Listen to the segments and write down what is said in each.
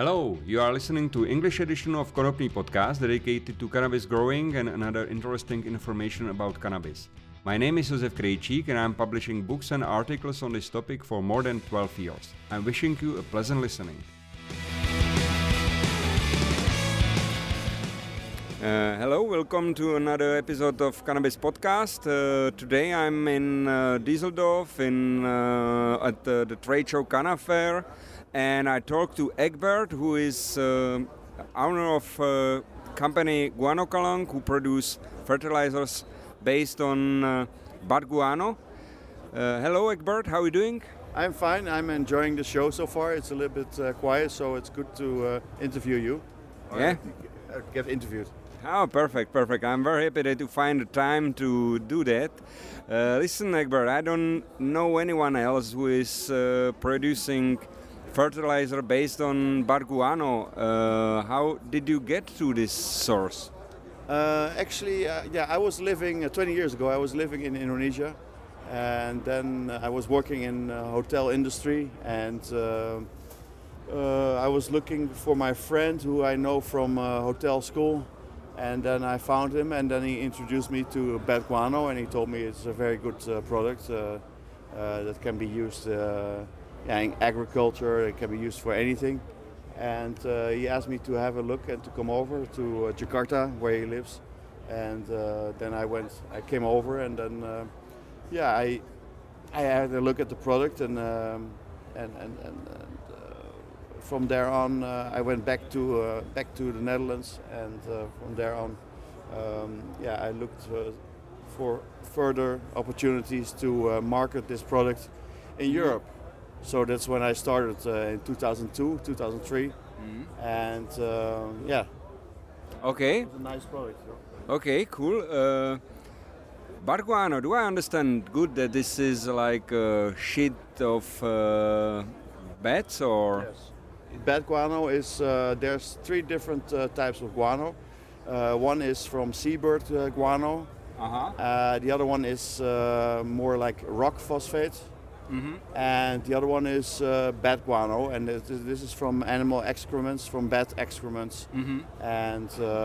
Hello, you are listening to English edition of Konopný podcast dedicated to cannabis growing and another interesting information about cannabis. My name is Josef Krejčík and I'm publishing books and articles on this topic for more than 12 years. I'm wishing you a pleasant listening. Hello, welcome to another episode of Cannabis Podcast. Today I'm in Düsseldorf at the trade show Canna Fair, and I talked to Egbert, who is owner of company Guanokalang, who produce fertilizers based on bud guano. Hello Egbert, how are you doing? I'm fine. I'm enjoying the show so far. It's a little bit quiet, so it's good to interview you. Yeah? Get interviewed. Oh, perfect. I'm very happy that you find the time to do that. Listen, Egbert, I don't know anyone else who is producing fertilizer based on bud guano. How did you get to this source? I was living 20 years ago. I was living in Indonesia, and then I was working in hotel industry, and I was looking for my friend who I know from hotel school. And then I found him, and then he introduced me to bud guano, and he told me it's a very good product that can be used in agriculture. It can be used for anything. And he asked me to have a look and to come over to Jakarta, where he lives. And then I came over, and then I had a look at the product, and from there on, I went back to the Netherlands, and from there on, I looked for further opportunities to market this product in Europe. So that's when I started in 2002, 2003, and Okay. It's a nice product. Okay, cool. Bud guano, do I understand good that this is like a shit of bats or? Yes. Bad guano is, there's three different types of guano. One is from seabird guano. The other one is more like rock phosphate. And the other one is bat guano, and this is from animal excrements, from bat excrements. And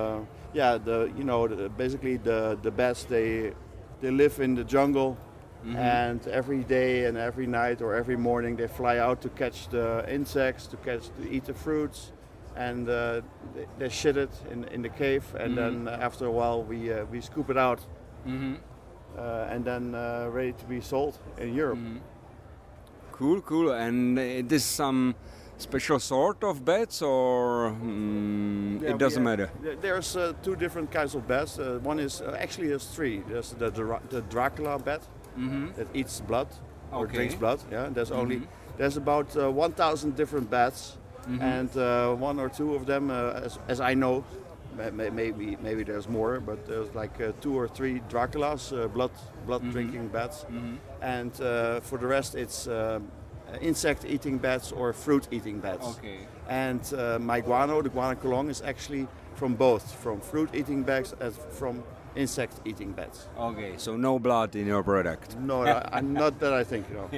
basically the bats, they live in the jungle. And every day and every night or every morning they fly out to catch the insects, to eat the fruits, and they shit it in the cave, and then after a while we scoop it out, and then ready to be sold in Europe. Cool. And it is some special sort of bats, or it doesn't matter? There's two different kinds of bats. One is there's three. There's the Dracula bat. That eats blood or drinks blood. Yeah, there's about 1,000 different bats, and one or two of them, as I know, maybe there's more, but there's like 2 or 3 Draculas, blood drinking bats, and for the rest it's insect eating bats or fruit eating bats. Okay. And my guano, the Guanokalang, is actually from both, from fruit eating bats as from insect-eating bats. Okay, so no blood in your product. No, I'm not that I think. No.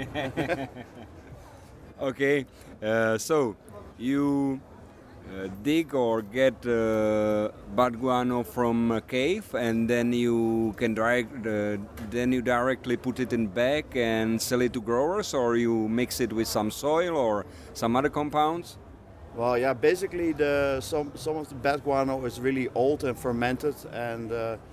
Okay, so you dig or get bud guano from a cave, and then you can directly put it in bag and sell it to growers, or you mix it with some soil or some other compounds. Well, yeah, basically some of the bad guano is really old and fermented, and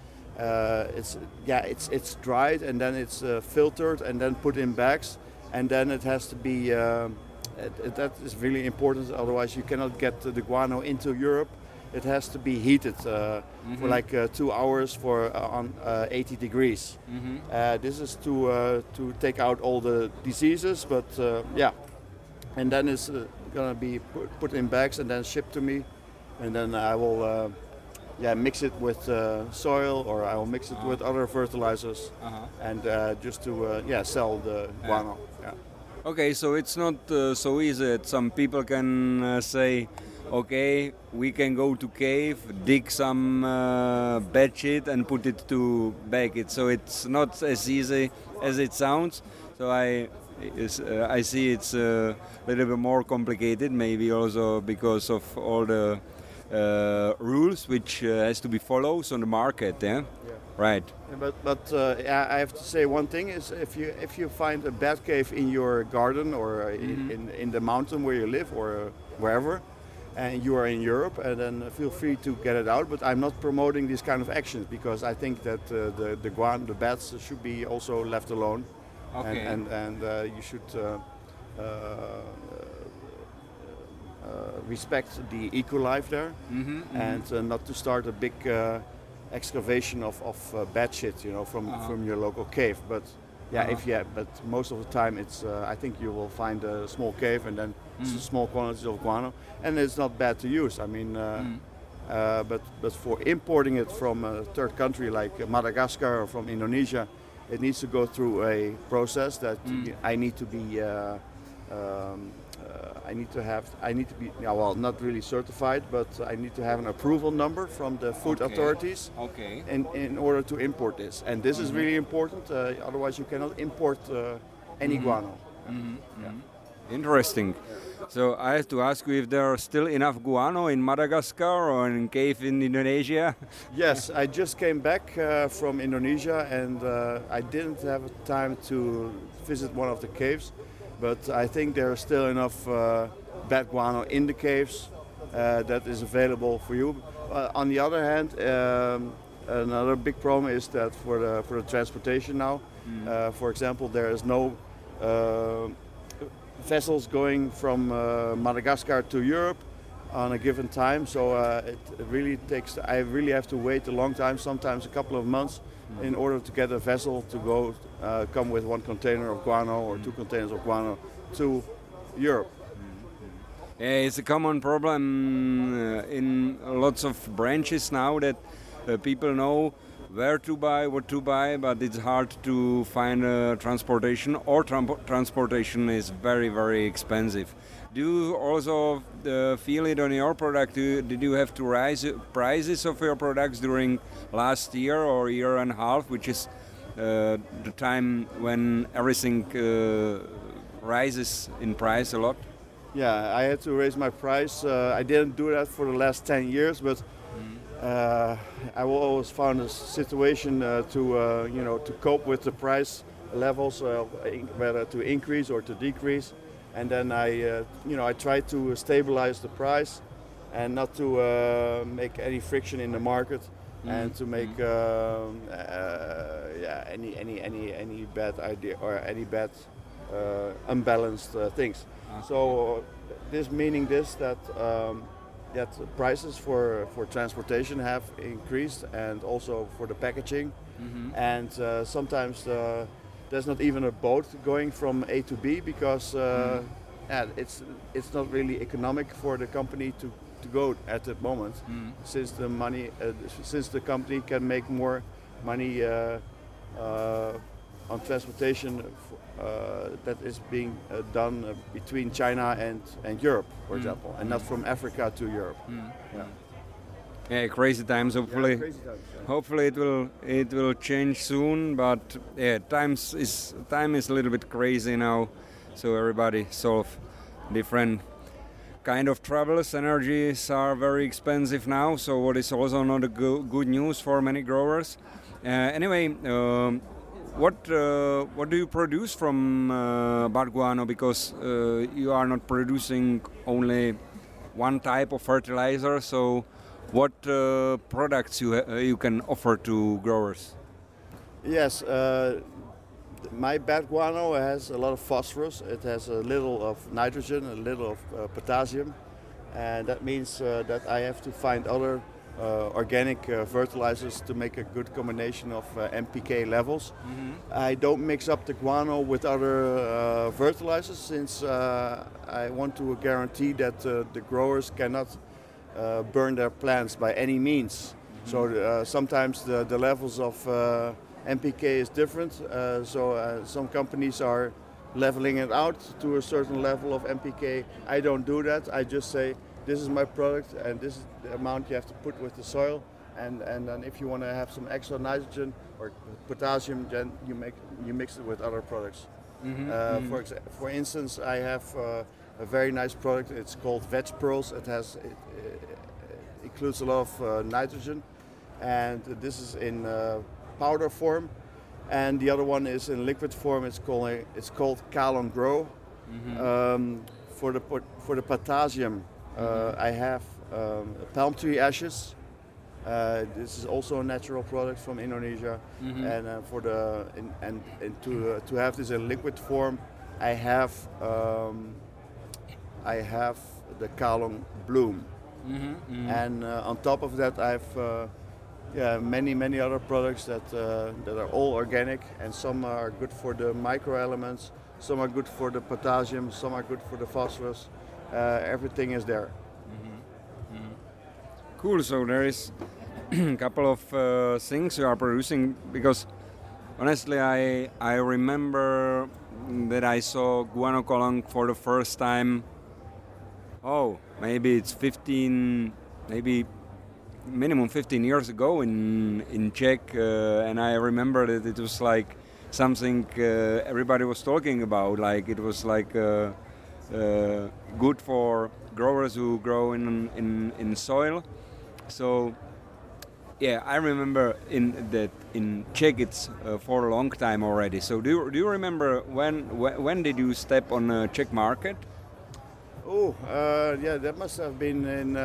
it's dried, and then it's filtered and then put in bags, and then it has to be that is really important, otherwise you cannot get the guano into Europe. It has to be heated for like 2 hours on 80 degrees. This is to take out all the diseases, but and then it's gonna be put in bags and then shipped to me, and then I will mix it with soil, or I will mix it with other fertilizers, and just to sell the guano. Yeah. Okay, so it's not so easy that some people can say, okay, we can go to cave, dig some bad shit and put it to bag it. So it's not as easy as it sounds. So I see it's a little bit more complicated, maybe also because of all the rules which has to be followed on the market. Yeah. Right. Yeah, but I have to say one thing is if you find a bat cave in your garden or in the mountain where you live or wherever, and you are in Europe, and then feel free to get it out. But I'm not promoting these kind of actions because I think that the bats should be also left alone, Okay. and you should respect the eco life there, and not to start a big excavation of bad shit, from your local cave. But but most of the time it's I think you will find a small cave and then small quantities of guano, and it's not bad to use. I mean, but for importing it from a third country like Madagascar or from Indonesia, it needs to go through a process that I need to be. I need to be not really certified, but I need to have an approval number from the food authorities in order to import this. And this is really important, otherwise you cannot import any guano. Interesting. So I have to ask you if there are still enough guano in Madagascar or in cave in Indonesia? Yes, I just came back from Indonesia, and I didn't have time to visit one of the caves. But I think there is still enough bad guano in the caves that is available for you. On the other hand, another big problem is that for the transportation now, for example, there is no vessels going from Madagascar to Europe on a given time. So it really takes. I really have to wait a long time, sometimes a couple of months, in order to get a vessel to come with one container of guano or two containers of guano to Europe. Yeah, it's a common problem in lots of branches now that people know where to buy, what to buy, but it's hard to find transportation, or transportation is very, very expensive. Do you also feel it on your product? Did you have to raise prices of your products during last year or year and a half, which is the time when everything rises in price a lot? Yeah, I had to raise my price. I didn't do that for the last 10 years, but I will always find a situation to cope with the price levels, whether to increase or to decrease. And then I try to stabilize the price and not to make any friction in the market, and to make any bad idea or any bad unbalanced things. So this meaning that prices for transportation have increased, and also for the packaging, and sometimes there's not even a boat going from A to B because it's not really economic for the company to go at that moment, since the company can make more money on transportation that is being done between China and Europe, for example, and not from Africa to Europe. Yeah, crazy times. Hopefully, Yeah, crazy times, yeah. hopefully it will change soon. But yeah, time is a little bit crazy now. So everybody solve different kind of troubles. Energies are very expensive now. So what is also not a good news for many growers. Anyway, what do you produce from bad guano? Because you are not producing only one type of fertilizer. So what products you can offer to growers? Yes, my bad guano has a lot of phosphorus. It has a little of nitrogen, a little of potassium, and that means that I have to find other organic fertilizers to make a good combination of NPK levels. I don't mix up the guano with other fertilizers, since I want to guarantee that the growers cannot burn their plants by any means. So sometimes the levels of NPK is different. So some companies are leveling it out to a certain level of NPK. I don't do that. I just say, this is my product and this is the amount you have to put with the soil. And then if you want to have some extra nitrogen or potassium, then you mix it with other products. For instance, I have a very nice product. It's called Veg Pearls. It includes a lot of nitrogen, and this is in powder form, and the other one is in liquid form. It's called Kalon Grow. For the potassium, I have palm tree ashes. This is also a natural product from Indonesia, and to have this in liquid form, I have the Kalon Bloom, and on top of that, I have many other products that are all organic, and some are good for the microelements, some are good for the potassium, some are good for the phosphorus. Everything is there. Cool. So there is a couple of things you are producing, because honestly I remember that I saw guanocolong for the first time. Maybe it's 15, maybe minimum 15 years ago in Czech, and I remember that it was like something everybody was talking about. Like it was like good for growers who grow in soil. So yeah, I remember in Czech it's for a long time already. So do you remember when did you step on the Czech market? That must have been in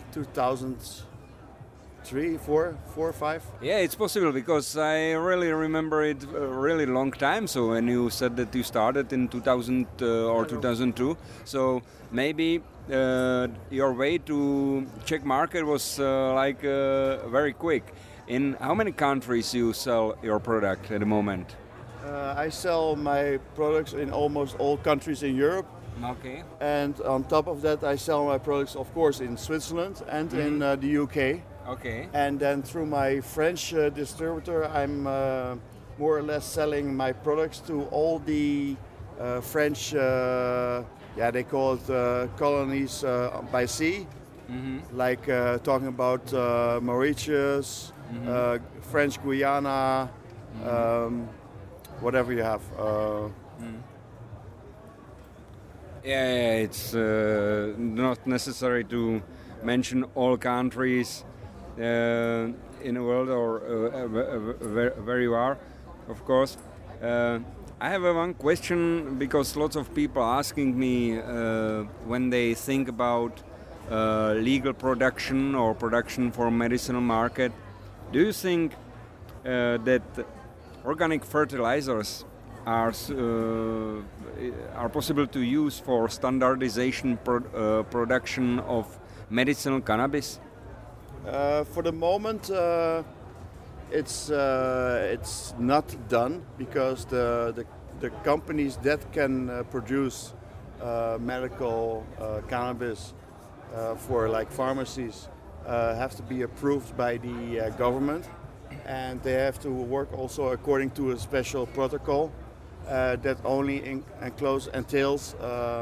2003, 4, 5. Yeah, it's possible, because I really remember it a really long time. So when you said that you started in 2000 or 2002, so maybe your way to Czech market was very quick. In how many countries you sell your product at the moment? I sell my products in almost all countries in Europe. Okay. And on top of that, I sell my products, of course, in Switzerland and in the UK. Okay. And then through my French distributor, I'm more or less selling my products to all the French, they call it colonies by sea, like talking about Mauritius, French Guiana, whatever you have. It's not necessary to mention all countries in the world, or where you are, of course. I have one question, because lots of people asking me when they think about legal production or production for medicinal market. Do you think that organic fertilizers are possible to use for standardization production of medicinal cannabis? For the moment, it's not done, because the companies that can produce medical cannabis for like pharmacies have to be approved by the government, and they have to work also according to a special protocol that only entails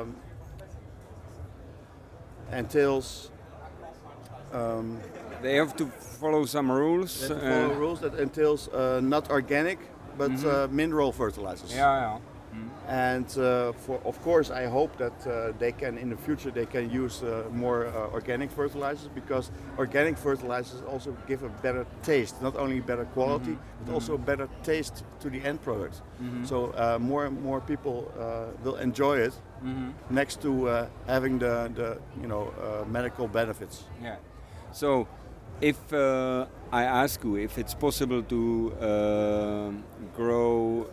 they have to follow some rules. They have to follow rules that entails not organic, but mineral fertilizers. And of course, I hope that in the future they can use more organic fertilizers, because organic fertilizers also give a better taste, not only better quality, but also a better taste to the end product. So more and more people will enjoy it, next to having the medical benefits. Yeah. So, if I ask you if it's possible to grow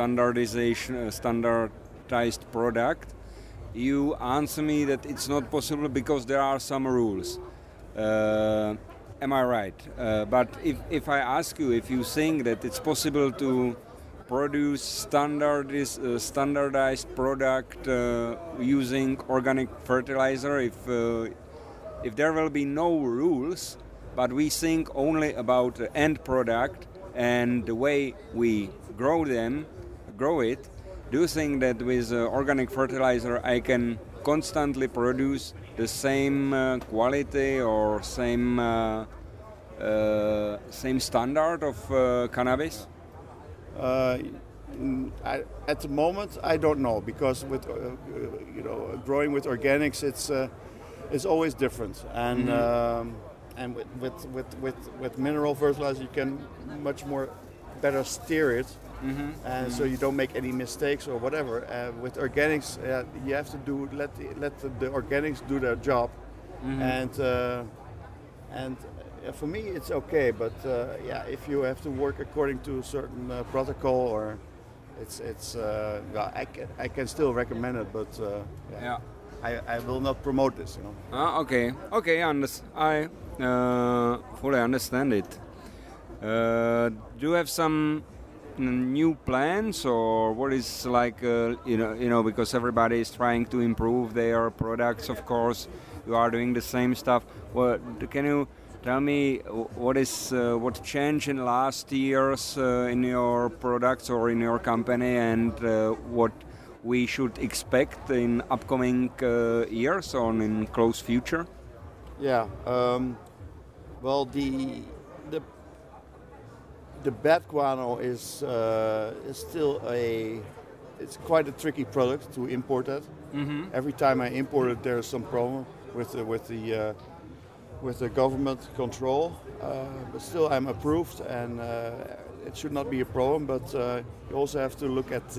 standardized product, you answer me that it's not possible because there are some rules. Am I right? But if I ask you if you think that it's possible to produce standardized product using organic fertilizer, if there will be no rules, but we think only about the end product and the way we grow it, do you think that with organic fertilizer I can constantly produce the same quality or same At the moment, I don't know, because with growing with organics, it's always different, and with mineral fertilizer, you can much more better steer it, and so you don't make any mistakes or whatever. With organics, you have to let the organics do their job, and for me it's okay. But if you have to work according to a certain protocol, or I can still recommend it, but I will not promote this. Okay, I fully understand it. Do you have some new plans, or what is like because everybody is trying to improve their products? Of course, you are doing the same stuff. Can you tell me what changed in last years in your products or in your company, and what we should expect in upcoming years or in close future? Yeah. Well, the bad guano is still it's quite a tricky product to import that. Every time I import it, there's some problem with the government control. But still, I'm approved, and it should not be a problem. But you also have to look at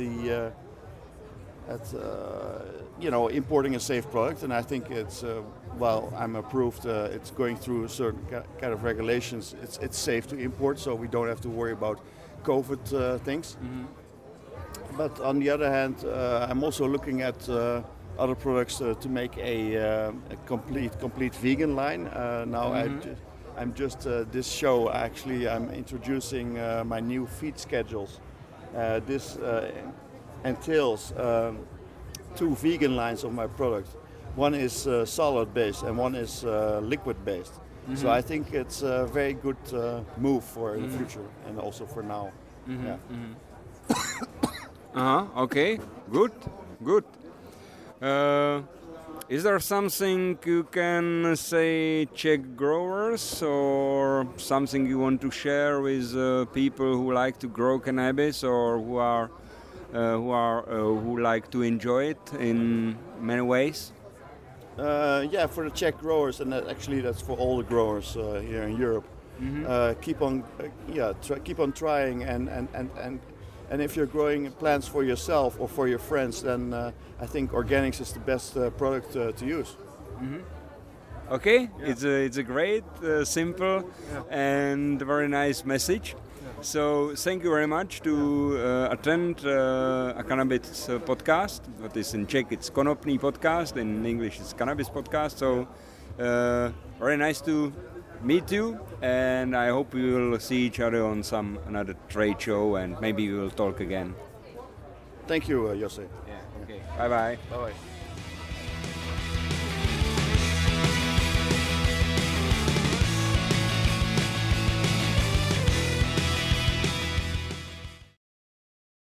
importing a safe product, and I think it's I'm approved. It's going through a certain kind of regulations. It's safe to import, so we don't have to worry about COVID things. But on the other hand, I'm also looking at other products to make a complete vegan line. Now I'm just this show actually. I'm introducing my new feed schedules. This entails 2 vegan lines of my product. One is solid based and one is liquid based. So I think it's a very good move for the future and also for now. Okay, good. Is there something you can say Czech growers, or something you want to share with people who like to grow cannabis, or who like to enjoy it in many ways? For the Czech growers, and that's for all the growers here in Europe. Keep on trying, and if you're growing plants for yourself or for your friends, then I think organics is the best product to use. Okay, it's a great, simple, and very nice message. So thank you very much to attend a cannabis podcast. What is in Czech, it's Konopný podcast. In English, it's cannabis podcast. So very nice to meet you, and I hope we will see each other on another trade show, and maybe we will talk again. Thank you, Jose. Yeah. Okay. Bye bye. Bye bye.